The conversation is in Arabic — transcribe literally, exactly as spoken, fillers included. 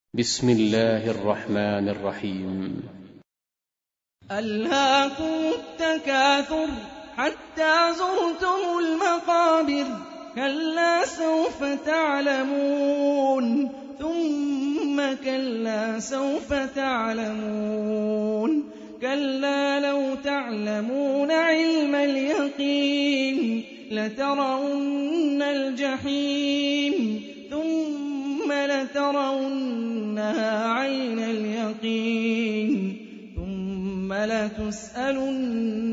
بسم الله الرحمن الرحيم. ألهاكم التكاثر حتى زرتم المقابر كلا سوف تعلمون ثم كلا سوف تعلمون كلا لو تعلمون علم اليقين لترون الجحيم ثم لترونها عين اليقين ثم لتسألن